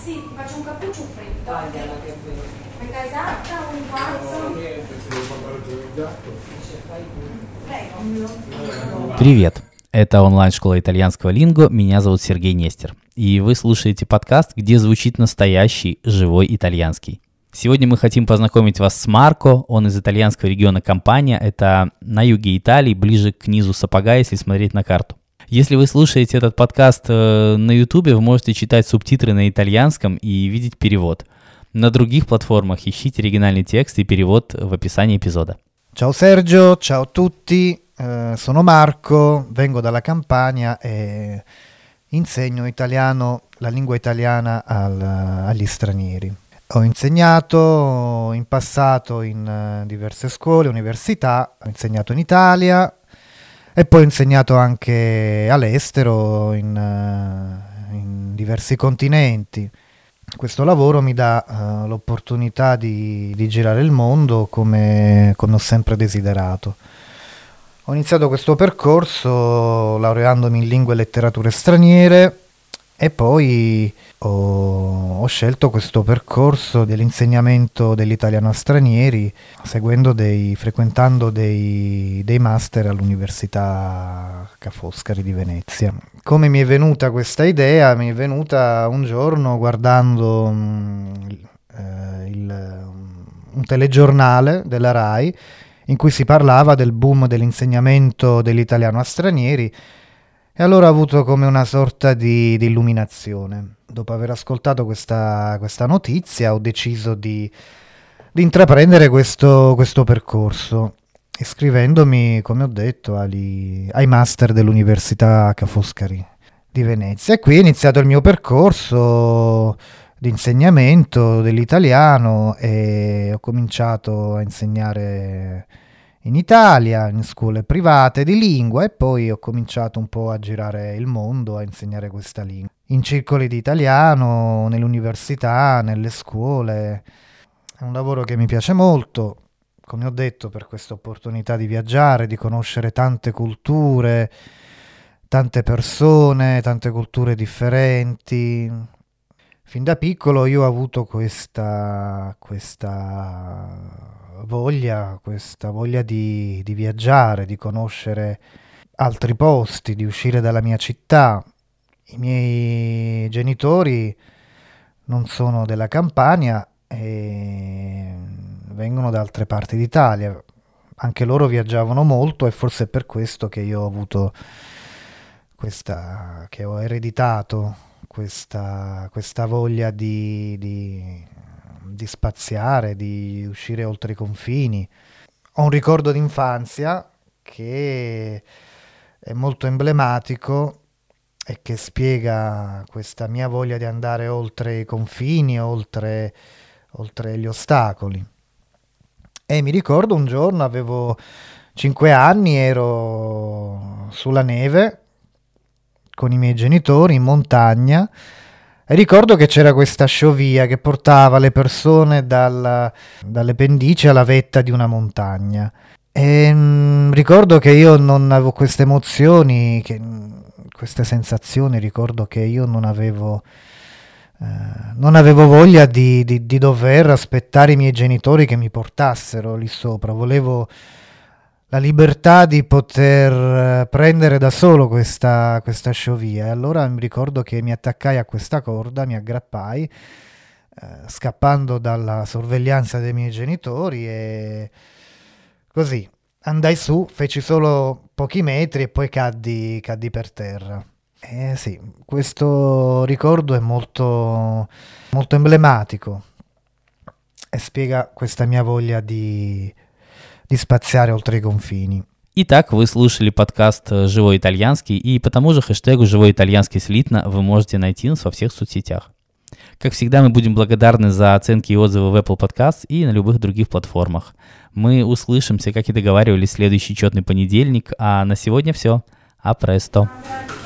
Sì, ti faccio un cappuccio freddo. Metà esatta, un quarto. Prego. Привет! Это онлайн-школа итальянского линго, меня зовут Сергей Нестер. И вы слушаете подкаст, где звучит настоящий, живой итальянский. Сегодня мы хотим познакомить вас с Марко, он из итальянского региона Кампания, это на юге Италии, ближе к низу сапога, если смотреть на карту. Если вы слушаете этот подкаст на Ютубе, вы можете читать субтитры на итальянском и видеть перевод. На других платформах ищите оригинальный текст и перевод в описании эпизода. Ciao Sergio, ciao a tutti, sono Marco, vengo dalla Campania e insegno italiano, la lingua italiana agli stranieri. Ho insegnato in passato in diverse scuole, università, ho insegnato in Italia e poi ho insegnato anche all'estero in diversi continenti. Questo lavoro mi dà l'opportunità di girare il mondo come ho sempre desiderato. Ho iniziato questo percorso laureandomi in lingue e letterature straniere e poi ho scelto questo percorso dell'insegnamento dell'italiano a stranieri frequentando dei master all'Università Ca' Foscari di Venezia. Come mi è venuta questa idea? Mi è venuta un giorno guardando un telegiornale della Rai in cui si parlava del boom dell'insegnamento dell'italiano a stranieri. E allora ho avuto come una sorta di illuminazione. Dopo aver ascoltato questa notizia ho deciso di intraprendere questo percorso, iscrivendomi, come ho detto, ai master dell'Università Ca' Foscari di Venezia. E qui è iniziato il mio percorso di insegnamento dell'italiano e ho cominciato a insegnare in Italia, in scuole private di lingua, e poi ho cominciato un po' a girare il mondo a insegnare questa lingua. In circoli di italiano, nell'università, nelle scuole. È un lavoro che mi piace molto, come ho detto, per questa opportunità di viaggiare, di conoscere tante culture, tante persone, tante culture differenti. Fin da piccolo io ho avuto questa voglia di viaggiare, di conoscere altri posti, di uscire dalla mia città. I miei genitori non sono della Campania e vengono da altre parti d'Italia. Anche loro viaggiavano molto e forse è per questo che io ho avuto che ho ereditato questa voglia di spaziare, di uscire oltre i confini. Ho un ricordo d'infanzia che è molto emblematico e che spiega questa mia voglia di andare oltre i confini, oltre gli ostacoli. E mi ricordo un giorno, avevo 5 anni, ero sulla neve con i miei genitori in montagna e ricordo che c'era questa sciovia che portava le persone dalle pendici alla vetta di una montagna. E ricordo che io non avevo queste emozioni, queste sensazioni, ricordo che io non avevo voglia di dover aspettare i miei genitori che mi portassero lì sopra. Volevo la libertà di poter prendere da solo questa sciovia. E allora mi ricordo che mi attaccai a questa corda, mi aggrappai, scappando dalla sorveglianza dei miei genitori, e così andai su, feci solo pochi metri e poi caddi per terra. Sì, questo ricordo è molto, molto emblematico e spiega questa mia voglia di spaziare oltre i confini. Итак, вы слушали подкаст «Живой итальянский», и по тому же хэштегу «Живой итальянский» слитно вы можете найти нас во всех соцсетях. Как всегда, мы будем благодарны за оценки и отзывы в Apple Podcasts и на любых других платформах. Мы услышимся, как и договаривались, в следующий четный понедельник, а на сегодня все. А престо!